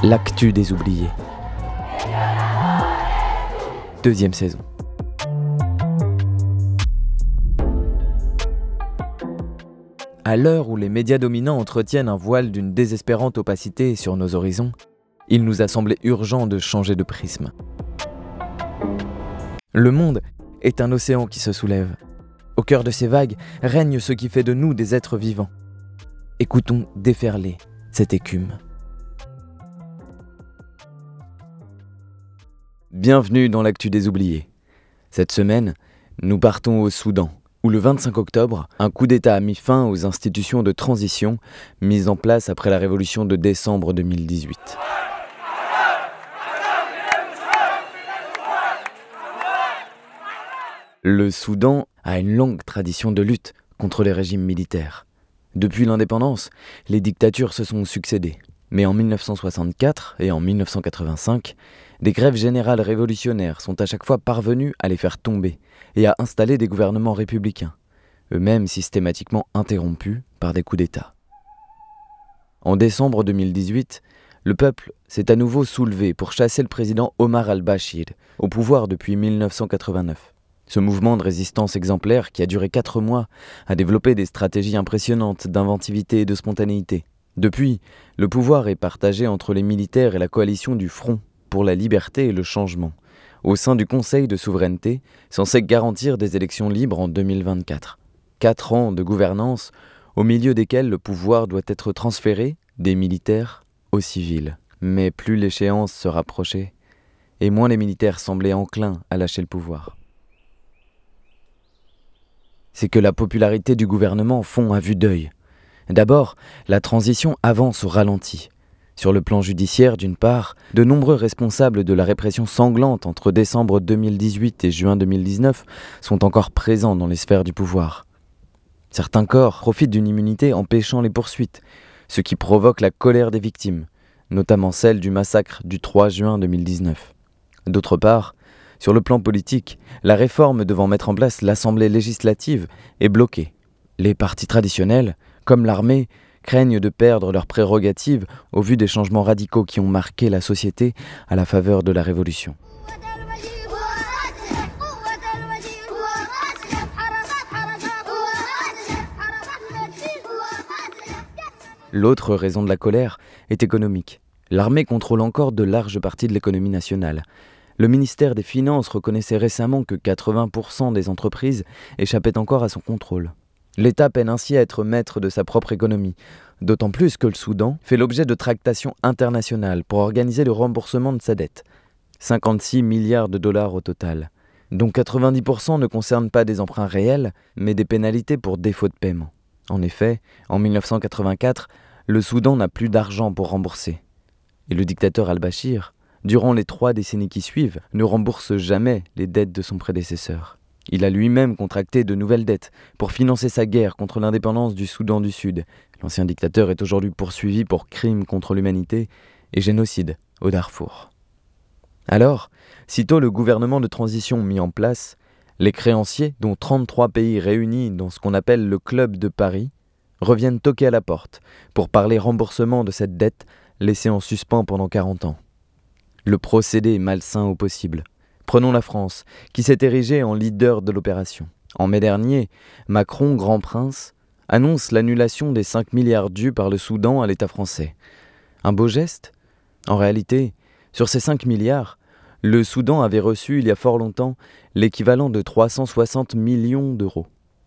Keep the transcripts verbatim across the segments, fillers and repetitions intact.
L'actu des oubliés. Deuxième saison. À l'heure où les médias dominants entretiennent un voile d'une désespérante opacité sur nos horizons, il nous a semblé urgent de changer de prisme. Le monde est un océan qui se soulève. Au cœur de ces vagues règne ce qui fait de nous des êtres vivants. Écoutons déferler cette écume. Bienvenue dans l'actu des oubliés. Cette semaine, nous partons au Soudan, où le vingt-cinq octobre, un coup d'État a mis fin aux institutions de transition mises en place après la révolution de décembre deux mille dix-huit. Le Soudan a une longue tradition de lutte contre les régimes militaires. Depuis l'indépendance, les dictatures se sont succédées. Mais en dix-neuf cent soixante-quatre et en dix-neuf cent quatre-vingt-cinq, des grèves générales révolutionnaires sont à chaque fois parvenues à les faire tomber et à installer des gouvernements républicains, eux-mêmes systématiquement interrompus par des coups d'État. En décembre deux mille dix-huit, le peuple s'est à nouveau soulevé pour chasser le président Omar al-Bashir, au pouvoir depuis dix-neuf cent quatre-vingt-neuf. Ce mouvement de résistance exemplaire, qui a duré quatre mois, a développé des stratégies impressionnantes d'inventivité et de spontanéité. Depuis, le pouvoir est partagé entre les militaires et la coalition du Front pour la liberté et le changement, au sein du Conseil de souveraineté, censé garantir des élections libres en deux mille vingt-quatre. Quatre ans de gouvernance, au milieu desquels le pouvoir doit être transféré des militaires aux civils. Mais plus l'échéance se rapprochait, et moins les militaires semblaient enclins à lâcher le pouvoir. C'est que la popularité du gouvernement fond à vue d'œil. D'abord, la transition avance au ralenti. Sur le plan judiciaire, d'une part, de nombreux responsables de la répression sanglante entre décembre deux mille dix-huit et juin deux mille dix-neuf sont encore présents dans les sphères du pouvoir. Certains corps profitent d'une immunité empêchant les poursuites, ce qui provoque la colère des victimes, notamment celle du massacre du trois juin deux mille dix-neuf. D'autre part, sur le plan politique, la réforme devant mettre en place l'Assemblée législative est bloquée. Les partis traditionnels, comme l'armée, craignent de perdre leurs prérogatives au vu des changements radicaux qui ont marqué la société à la faveur de la Révolution. L'autre raison de la colère est économique. L'armée contrôle encore de larges parties de l'économie nationale. Le ministère des Finances reconnaissait récemment que quatre-vingts pour cent des entreprises échappaient encore à son contrôle. L'État peine ainsi à être maître de sa propre économie, d'autant plus que le Soudan fait l'objet de tractations internationales pour organiser le remboursement de sa dette. cinquante-six milliards de dollars au total, dont quatre-vingt-dix pour cent ne concernent pas des emprunts réels, mais des pénalités pour défaut de paiement. En effet, en dix-neuf cent quatre-vingt-quatre, le Soudan n'a plus d'argent pour rembourser. Et le dictateur al-Bashir, durant les trois décennies qui suivent, ne rembourse jamais les dettes de son prédécesseur. Il a lui-même contracté de nouvelles dettes pour financer sa guerre contre l'indépendance du Soudan du Sud. L'ancien dictateur est aujourd'hui poursuivi pour crimes contre l'humanité et génocide au Darfour. Alors, sitôt le gouvernement de transition mis en place, les créanciers, dont trente-trois pays réunis dans ce qu'on appelle le Club de Paris, reviennent toquer à la porte pour parler remboursement de cette dette laissée en suspens pendant quarante ans. Le procédé est malsain au possible. Prenons la France, qui s'est érigée en leader de l'opération. En mai dernier, Macron, grand prince, annonce l'annulation des cinq milliards dus par le Soudan à l'État français. Un beau geste ? En réalité, sur ces cinq milliards, le Soudan avait reçu il y a fort longtemps l'équivalent de trois cent soixante millions d'euros.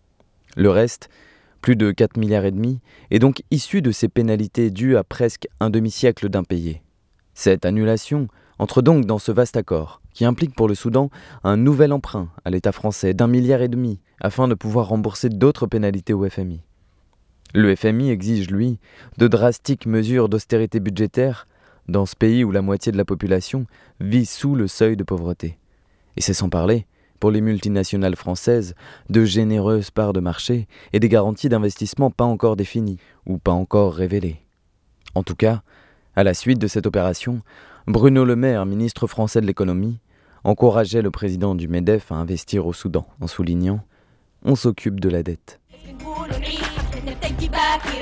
Le reste, plus de quatre milliards et demi, est donc issu de ces pénalités dues à presque un demi-siècle d'impayés. Cette annulation entre donc dans ce vaste accord, qui implique pour le Soudan un nouvel emprunt à l'État français d'un milliard et demi, afin de pouvoir rembourser d'autres pénalités au F M I. Le F M I exige, lui, de drastiques mesures d'austérité budgétaire dans ce pays où la moitié de la population vit sous le seuil de pauvreté. Et c'est sans parler, pour les multinationales françaises, de généreuses parts de marché et des garanties d'investissement pas encore définies ou pas encore révélées. En tout cas, à la suite de cette opération, Bruno Le Maire, ministre français de l'économie, encourageait le président du MEDEF à investir au Soudan, en soulignant « On s'occupe de la dette ».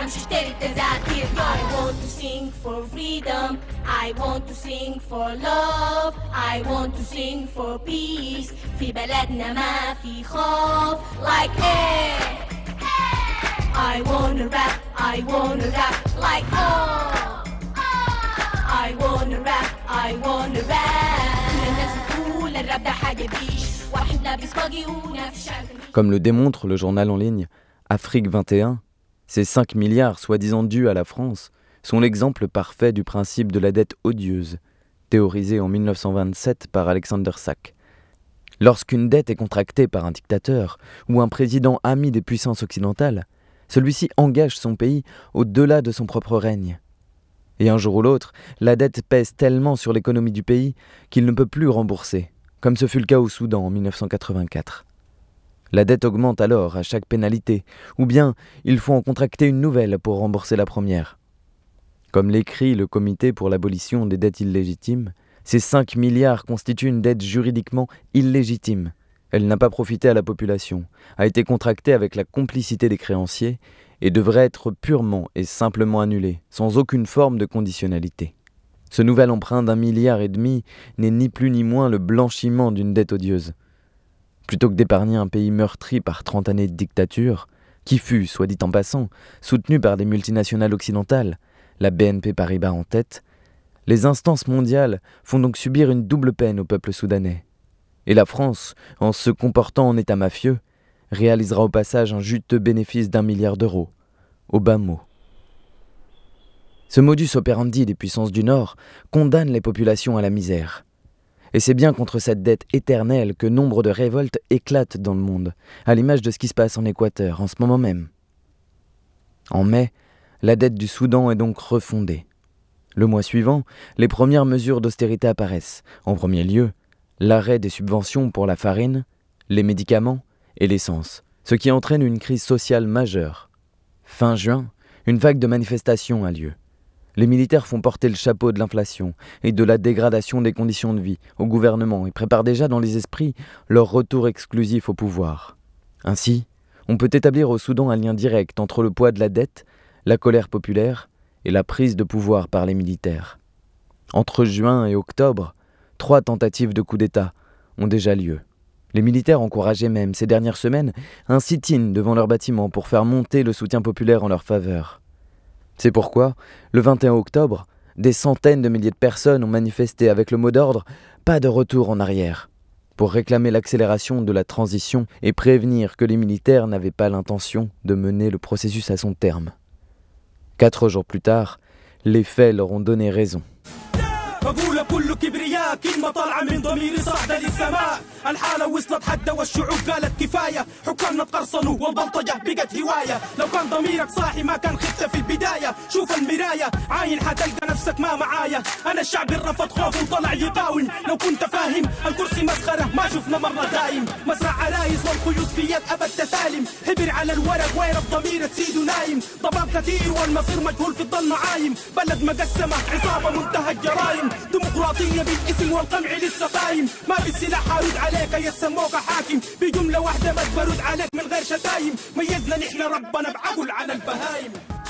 مش اشتري التذاكر. I want to sing for freedom, I want to sing for love, I want to sing for peace. في بلدنا ما في خوف. Like hey, I wanna rap, I wanna rap like oh, I wanna rap, I wanna rap. كل الناس بتقول الراب ده حاجة بيش، واحد لابس باجي ونفس شعر. Comme le démontre le journal en ligne Afrique vingt et un, ces cinq milliards soi-disant dus à la France sont l'exemple parfait du principe de la dette odieuse, théorisé en mille neuf cent vingt-sept par Alexander Sachs. Lorsqu'une dette est contractée par un dictateur ou un président ami des puissances occidentales, celui-ci engage son pays au-delà de son propre règne. Et un jour ou l'autre, la dette pèse tellement sur l'économie du pays qu'il ne peut plus rembourser, comme ce fut le cas au Soudan en mille neuf cent quatre-vingt-quatre. La dette augmente alors à chaque pénalité, ou bien il faut en contracter une nouvelle pour rembourser la première. Comme l'écrit le Comité pour l'abolition des dettes illégitimes, ces cinq milliards constituent une dette juridiquement illégitime. Elle n'a pas profité à la population, a été contractée avec la complicité des créanciers et devrait être purement et simplement annulée, sans aucune forme de conditionnalité. Ce nouvel emprunt d'un milliard et demi n'est ni plus ni moins le blanchiment d'une dette odieuse. Plutôt que d'épargner un pays meurtri par trente années de dictature, qui fut, soit dit en passant, soutenu par des multinationales occidentales, la B N P Paribas en tête, les instances mondiales font donc subir une double peine au peuple soudanais. Et la France, en se comportant en état mafieux, réalisera au passage un juteux bénéfice d'un milliard d'euros, au bas mot. Ce modus operandi des puissances du Nord condamne les populations à la misère. Et c'est bien contre cette dette éternelle que nombre de révoltes éclatent dans le monde, à l'image de ce qui se passe en Équateur en ce moment même. En mai, la dette du Soudan est donc refondée. Le mois suivant, les premières mesures d'austérité apparaissent. En premier lieu, l'arrêt des subventions pour la farine, les médicaments et l'essence, ce qui entraîne une crise sociale majeure. Fin juin, une vague de manifestations a lieu. Les militaires font porter le chapeau de l'inflation et de la dégradation des conditions de vie au gouvernement et préparent déjà dans les esprits leur retour exclusif au pouvoir. Ainsi, on peut établir au Soudan un lien direct entre le poids de la dette, la colère populaire et la prise de pouvoir par les militaires. Entre juin et octobre, trois tentatives de coup d'État ont déjà lieu. Les militaires encourageaient même ces dernières semaines un sit-in devant leurs bâtiments pour faire monter le soutien populaire en leur faveur. C'est pourquoi, le vingt et un octobre, des centaines de milliers de personnes ont manifesté avec le mot d'ordre « Pas de retour en arrière » pour réclamer l'accélération de la transition et prévenir que les militaires n'avaient pas l'intention de mener le processus à son terme. Quatre jours plus tard, les faits leur ont donné raison. بقول كل كبرياء كلمة طالعة من ضميري صاعدة للسماء. الحالة وصلت حتى والشعوب قالت كفاية. حكامنا تقرصنوا والبلطجة بقت هواية. لو كان ضميرك صاحي ما كان خفت في البداية. شوف المراية عاين حتلقى نفسك ما معايا. أنا الشعب الرفض خوف وطلع يقاوم. لو كنت فاهم الكرسي مسخرة ما شفنا مرة دايم. مزرعة عرايس والخيوط في يد أبد تسالم. حبر على الورق وين الضمير تسيد ونايم. ضباب كثير والمصير مجهول في الضلمة عايم. بلد مقسمة عصابة منتهى الجرايم. ديمقراطية بالاسم والقمع لسه قايم. ما بالسلاح حارد عليك يسموك حاكم. بجملة واحدة بس برد عليك من غير شتايم. ميزنا نحن ربنا بعقل على البهايم.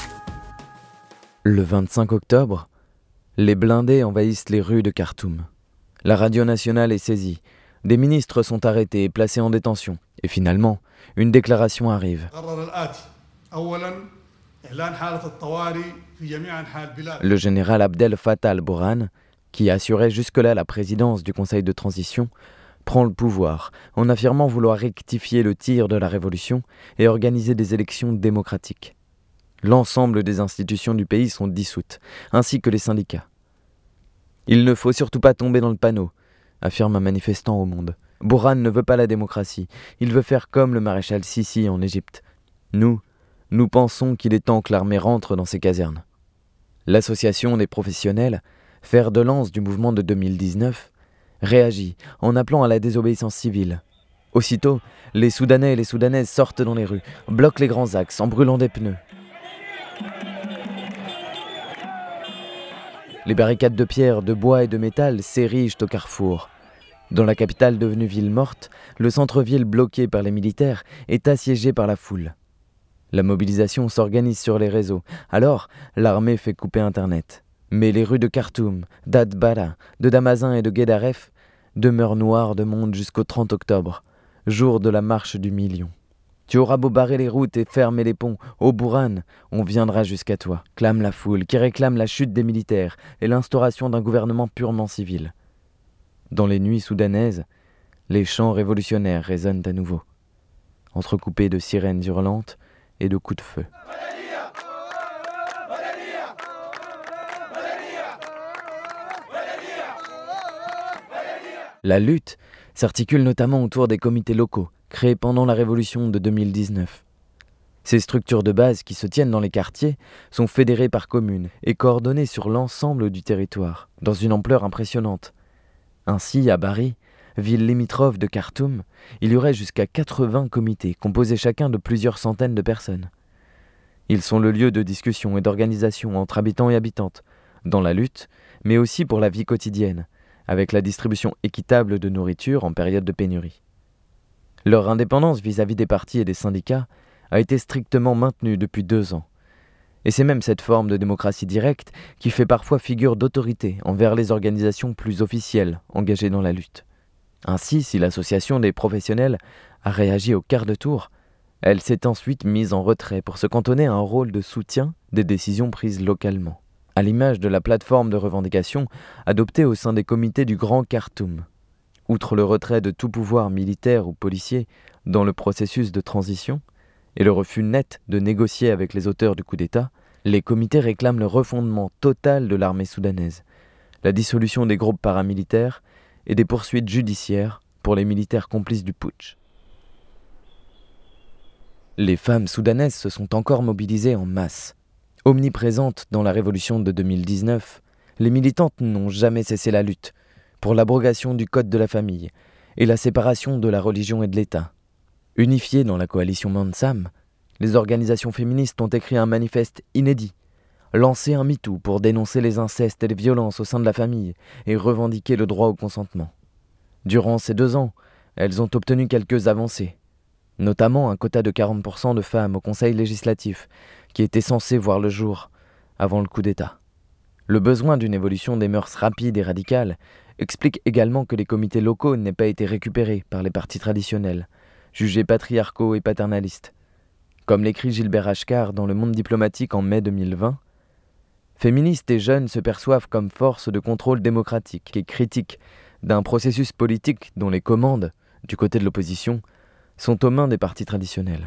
Le vingt-cinq octobre, les blindés envahissent les rues de Khartoum. La radio nationale est saisie. Des ministres sont arrêtés et placés en détention. Et finalement, une déclaration arrive. Le général Abdel Fattah al-Burhan, qui assurait jusque-là la présidence du Conseil de transition, prend le pouvoir en affirmant vouloir rectifier le tir de la révolution et organiser des élections démocratiques. L'ensemble des institutions du pays sont dissoutes, ainsi que les syndicats. Il ne faut surtout pas tomber dans le panneau, affirme un manifestant au Monde. Burhan ne veut pas la démocratie, il veut faire comme le maréchal Sissi en Égypte. Nous, nous pensons qu'il est temps que l'armée rentre dans ses casernes. L'association des professionnels, fer de lance du mouvement de deux mille dix-neuf, réagit en appelant à la désobéissance civile. Aussitôt, les Soudanais et les Soudanaises sortent dans les rues, bloquent les grands axes en brûlant des pneus. Les barricades de pierre, de bois et de métal s'érigent au carrefour. Dans la capitale devenue ville morte, le centre-ville bloqué par les militaires est assiégé par la foule. La mobilisation s'organise sur les réseaux. Alors, l'armée fait couper Internet. Mais les rues de Khartoum, d'Atbara, de Damazin et de Guédaref demeurent noires de monde jusqu'au trente octobre, jour de la marche du million. Tu auras beau barrer les routes et fermer les ponts, au Bourran, on viendra jusqu'à toi, clame la foule, qui réclame la chute des militaires et l'instauration d'un gouvernement purement civil. Dans les nuits soudanaises, les chants révolutionnaires résonnent à nouveau, entrecoupés de sirènes hurlantes et de coups de feu. La lutte s'articule notamment autour des comités locaux, créés pendant la Révolution de deux mille dix-neuf. Ces structures de base qui se tiennent dans les quartiers sont fédérées par communes et coordonnées sur l'ensemble du territoire, dans une ampleur impressionnante. Ainsi, à Bari, ville limitrophe de Khartoum, il y aurait jusqu'à quatre-vingts comités, composés chacun de plusieurs centaines de personnes. Ils sont le lieu de discussion et d'organisation entre habitants et habitantes, dans la lutte, mais aussi pour la vie quotidienne, avec la distribution équitable de nourriture en période de pénurie. Leur indépendance vis-à-vis des partis et des syndicats a été strictement maintenue depuis deux ans. Et c'est même cette forme de démocratie directe qui fait parfois figure d'autorité envers les organisations plus officielles engagées dans la lutte. Ainsi, si l'association des professionnels a réagi au quart de tour, elle s'est ensuite mise en retrait pour se cantonner à un rôle de soutien des décisions prises localement, à l'image de la plateforme de revendication adoptée au sein des comités du Grand Khartoum. Outre le retrait de tout pouvoir militaire ou policier dans le processus de transition et le refus net de négocier avec les auteurs du coup d'État, les comités réclament le refondement total de l'armée soudanaise, la dissolution des groupes paramilitaires et des poursuites judiciaires pour les militaires complices du putsch. Les femmes soudanaises se sont encore mobilisées en masse. Omniprésentes dans la révolution de deux mille dix-neuf, les militantes n'ont jamais cessé la lutte pour l'abrogation du code de la famille et la séparation de la religion et de l'État. Unifiées dans la coalition Mansam, les organisations féministes ont écrit un manifeste inédit, lancé un MeToo pour dénoncer les incestes et les violences au sein de la famille et revendiquer le droit au consentement. Durant ces deux ans, elles ont obtenu quelques avancées, notamment un quota de quarante pour cent de femmes au Conseil législatif, qui était censé voir le jour avant le coup d'État. Le besoin d'une évolution des mœurs rapide et radicale explique également que les comités locaux n'aient pas été récupérés par les partis traditionnels, jugés patriarcaux et paternalistes. Comme l'écrit Gilbert Achcar dans Le Monde diplomatique en mai deux mille vingt, féministes et jeunes se perçoivent comme force de contrôle démocratique et critique d'un processus politique dont les commandes, du côté de l'opposition, sont aux mains des partis traditionnels.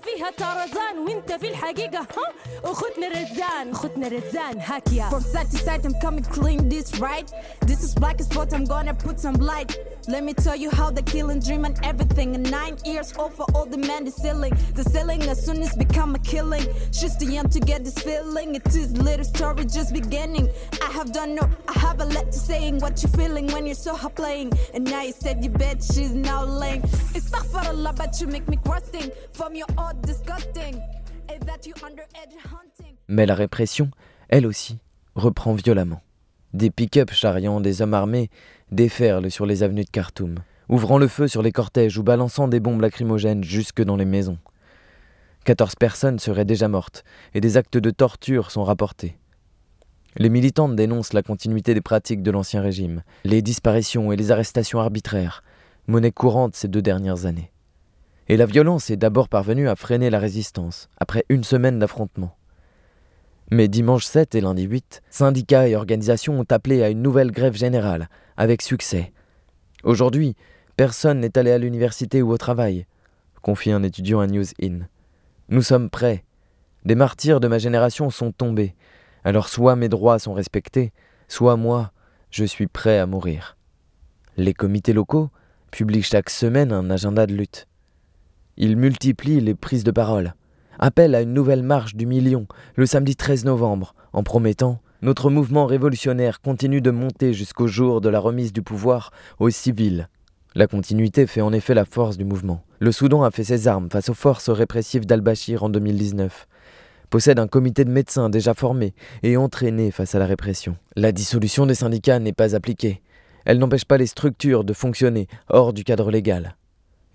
From side to side, I'm coming clean this right. This is black as spot, I'm gonna put some light. Let me tell you how the killing dream and everything. And nine years old for all the men, the ceiling. The ceiling as soon as become a killing. She's too young to get this feeling. It is little story just beginning. I have done no, I have a lot to saying what you feeling when you're so hot playing. And now you said you bet she's now laying. Astaghfirullah, but you make me crusting. From your odd disgusting. And that you underage hunting. Mais la répression, elle aussi, reprend violemment. Des pick-up charriant des hommes armés déferlent sur les avenues de Khartoum, ouvrant le feu sur les cortèges ou balançant des bombes lacrymogènes jusque dans les maisons. quatorze personnes seraient déjà mortes et des actes de torture sont rapportés. Les militantes dénoncent la continuité des pratiques de l'ancien régime, les disparitions et les arrestations arbitraires, monnaie courante ces deux dernières années. Et la violence est d'abord parvenue à freiner la résistance, après une semaine d'affrontements. Mais dimanche sept et lundi huit, syndicats et organisations ont appelé à une nouvelle grève générale, avec succès. Aujourd'hui, personne n'est allé à l'université ou au travail, confie un étudiant à News In. Nous sommes prêts. Des martyrs de ma génération sont tombés. Alors soit mes droits sont respectés, soit moi, je suis prêt à mourir. Les comités locaux publient chaque semaine un agenda de lutte. Ils multiplient les prises de parole, appellent à une nouvelle marche du million le samedi treize novembre, en promettant « Notre mouvement révolutionnaire continue de monter jusqu'au jour de la remise du pouvoir aux civils ». La continuité fait en effet la force du mouvement. Le Soudan a fait ses armes face aux forces répressives d'Al-Bachir en deux mille dix-neuf. Possède un comité de médecins déjà formé et entraîné face à la répression. La dissolution des syndicats n'est pas appliquée. Elle n'empêche pas les structures de fonctionner hors du cadre légal.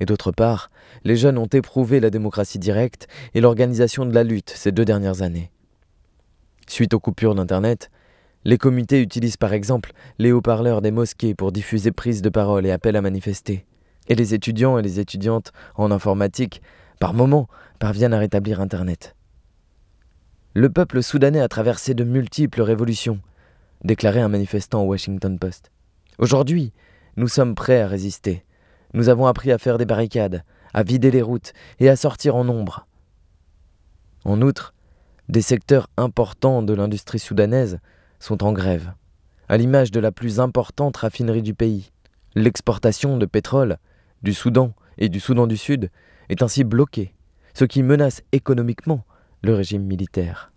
Et d'autre part, les jeunes ont éprouvé la démocratie directe et l'organisation de la lutte ces deux dernières années. Suite aux coupures d'Internet, les comités utilisent par exemple les haut-parleurs des mosquées pour diffuser prises de parole et appels à manifester. Et les étudiants et les étudiantes en informatique, par moments, parviennent à rétablir Internet. Le peuple soudanais a traversé de multiples révolutions, déclarait un manifestant au Washington Post. Aujourd'hui, nous sommes prêts à résister. Nous avons appris à faire des barricades, à vider les routes et à sortir en nombre. En outre, des secteurs importants de l'industrie soudanaise sont en grève, à l'image de la plus importante raffinerie du pays. L'exportation de pétrole du Soudan et du Soudan du Sud est ainsi bloquée, ce qui menace économiquement le régime militaire.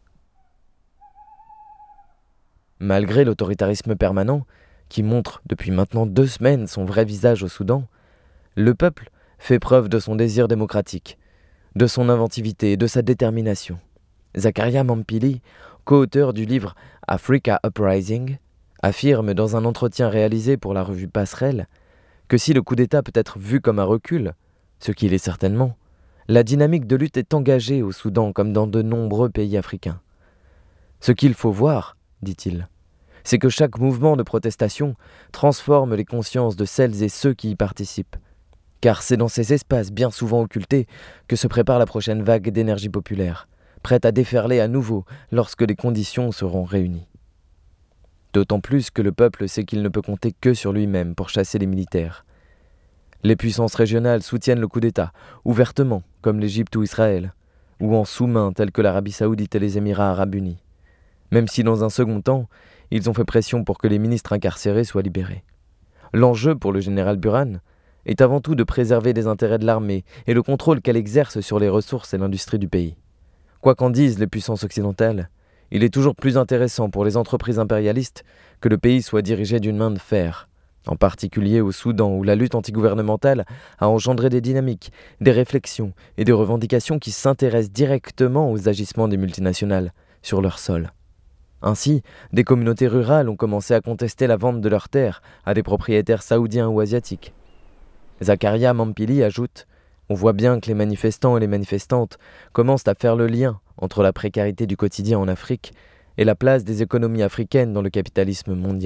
Malgré l'autoritarisme permanent, qui montre depuis maintenant deux semaines son vrai visage au Soudan, le peuple fait preuve de son désir démocratique, de son inventivité et de sa détermination. Zakaria Mampili, co-auteur du livre Africa Uprising, affirme dans un entretien réalisé pour la revue Passerelle que si le coup d'État peut être vu comme un recul, ce qu'il est certainement, la dynamique de lutte est engagée au Soudan comme dans de nombreux pays africains. Ce qu'il faut voir, dit-il, c'est que chaque mouvement de protestation transforme les consciences de celles et ceux qui y participent. Car c'est dans ces espaces bien souvent occultés que se prépare la prochaine vague d'énergie populaire, prête à déferler à nouveau lorsque les conditions seront réunies. D'autant plus que le peuple sait qu'il ne peut compter que sur lui-même pour chasser les militaires. Les puissances régionales soutiennent le coup d'État, ouvertement, comme l'Égypte ou Israël, ou en sous-main, tels que l'Arabie Saoudite et les Émirats Arabes Unis. Même si dans un second temps, ils ont fait pression pour que les ministres incarcérés soient libérés. L'enjeu pour le général Burhan est avant tout de préserver les intérêts de l'armée et le contrôle qu'elle exerce sur les ressources et l'industrie du pays. Quoi qu'en disent les puissances occidentales, il est toujours plus intéressant pour les entreprises impérialistes que le pays soit dirigé d'une main de fer, en particulier au Soudan où la lutte antigouvernementale a engendré des dynamiques, des réflexions et des revendications qui s'intéressent directement aux agissements des multinationales sur leur sol. Ainsi, des communautés rurales ont commencé à contester la vente de leurs terres à des propriétaires saoudiens ou asiatiques. Zakaria Mampili ajoute « On voit bien que les manifestants et les manifestantes commencent à faire le lien entre la précarité du quotidien en Afrique et la place des économies africaines dans le capitalisme mondial. »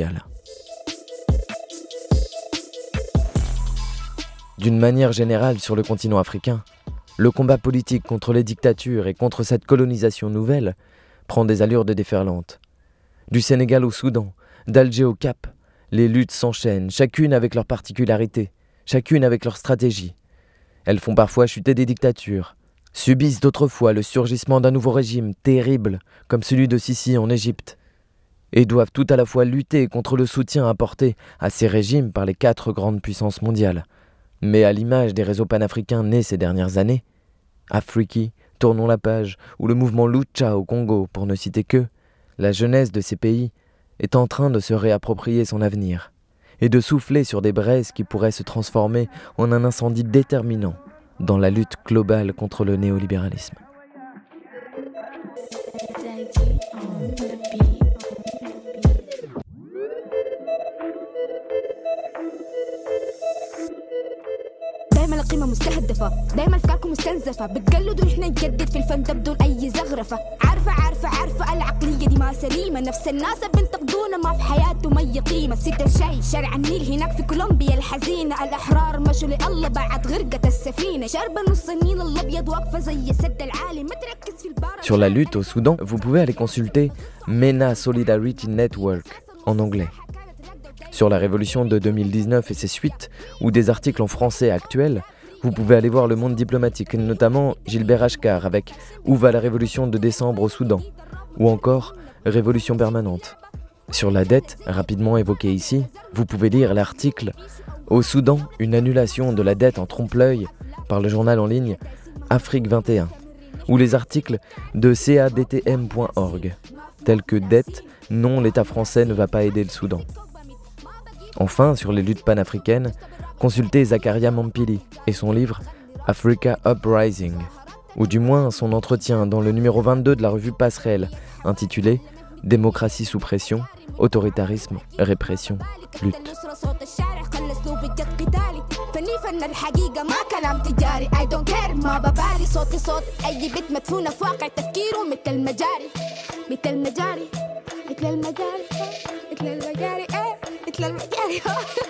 D'une manière générale sur le continent africain, le combat politique contre les dictatures et contre cette colonisation nouvelle prend des allures de déferlante. Du Sénégal au Soudan, d'Alger au Cap, les luttes s'enchaînent, chacune avec leurs particularités, chacune avec leur stratégie. Elles font parfois chuter des dictatures, subissent d'autres fois le surgissement d'un nouveau régime terrible, comme celui de Sisi en Égypte, et doivent tout à la fois lutter contre le soutien apporté à ces régimes par les quatre grandes puissances mondiales. Mais à l'image des réseaux panafricains nés ces dernières années, Afriki, Tournons la page, ou le mouvement Lucha au Congo, pour ne citer que, la jeunesse de ces pays est en train de se réapproprier son avenir et de souffler sur des braises qui pourraient se transformer en un incendie déterminant dans la lutte globale contre le néolibéralisme. دايما القيمة مستهدفة، دايما أفكاركم مستنزفة، بتقلدوا إحنا نجدد في الفن ده بدون أي زخرفة، عارفة عارفة عارفة العقلية دي ما سليمة، نفس الناس بنتقدونا ما في حياتهم أي قيمة، ستة الشاي شارع النيل هناك في كولومبيا الحزينة، الأحرار مشوا لله بعد غرقة السفينة، شاربة نص النيل الأبيض واقفة زي السد العالي، ما تركز في البار. Sur la lutte au Soudan, vous pouvez aller consulter MENA Solidarity Network en anglais. Sur la révolution de deux mille dix-neuf et ses suites, ou des articles en français actuels, vous pouvez aller voir Le Monde diplomatique, notamment Gilbert Achcar avec Où va la révolution de décembre au Soudan, ou encore Révolution permanente. Sur la dette, rapidement évoquée ici, vous pouvez lire l'article Au Soudan, une annulation de la dette en trompe-l'œil par le journal en ligne Afrique vingt et un, ou les articles de C A D T M point org, tels que Dette, non, l'État français ne va pas aider le Soudan. Enfin, sur les luttes panafricaines, consultez Zakaria Mampili et son livre Africa Uprising, ou du moins son entretien dans le numéro vingt-deux de la revue Passerelle, intitulé démocratie sous pression, autoritarisme, répression, lutte. فني فن الحقيقة ما كلام تجاري I don't care ما ببالي صوتي صوت أي بيت مدفونة في واقع تفكيره مثل المجاري مثل المجاري مثل المجاري مثل المجاري ايه مثل المجاري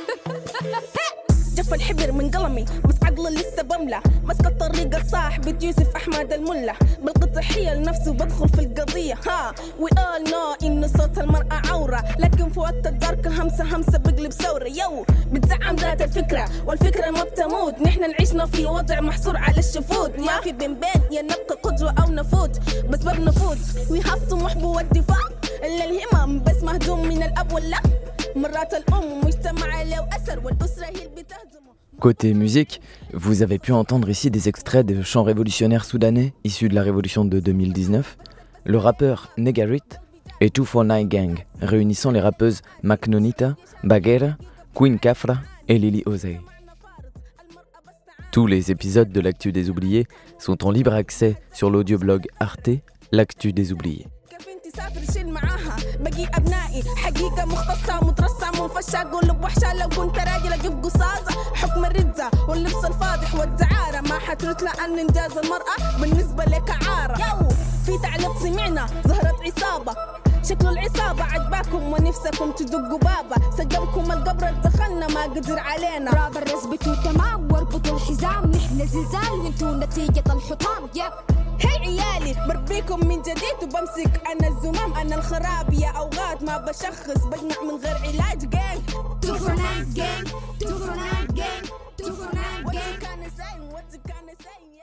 جف الحبر من قلمي بس عقله لسه بملة مسك الطريق الصاحب يوسف أحمد الملا بالقطع حيل نفسه بدخل في القضية ها we all know إنه صوت المرأة عورة لكن في وقت الدركة همسة همسة بقلب ثورة يو بتزعم ذات الفكرة والفكرة ما بتموت نحن نعيشنا في وضع محصور على الشفوت ما في بين بين يا نبقى قدوة أو نفوت بس بنفوت we have طموح والدفاع إلا الهمم بس مهدوم من الأب والله مرات الأم مجتمع له أثر والأسرة هي اللي بتهدمه. Côté musique, vous avez pu entendre ici des extraits de chants révolutionnaires soudanais issus de la révolution de deux mille dix-neuf, le rappeur Negarit et deux cent quarante-neuf Gang, réunissant les rappeuses Maknonita, Bagheera, Queen Kafra et Lily Osei. Tous les épisodes de l'Actu des Oubliés sont en libre accès sur l'audioblog Arte, l'Actu des Oubliés. سافر شيل معاها بقي أبنائي حقيقة مختصة مترصة منفشة قلب وحشة لو كنت راجل أجيب قصاصة حكم الرزة واللبس الفاضح والدعارة ما حترث لأن إنجاز المرأة بالنسبة لك عارة يو في تعليق سمعنا ظهرت عصابة شكل العصابة عجباكم ونفسكم تدقوا بابا سجمكم القبر دخلنا ما قدر علينا رابر رزبتوا تمام واربطوا الحزام نحن زلزال وانتوا نتيجة الحطام يب هي عيالي بربيكم من جديد وبمسك أنا الزمام أنا الخراب يا أوقات ما بشخص بجمع من غير علاج جانج two for nine gang two for nine gang two for nine gang What you gonna say? What you gonna say?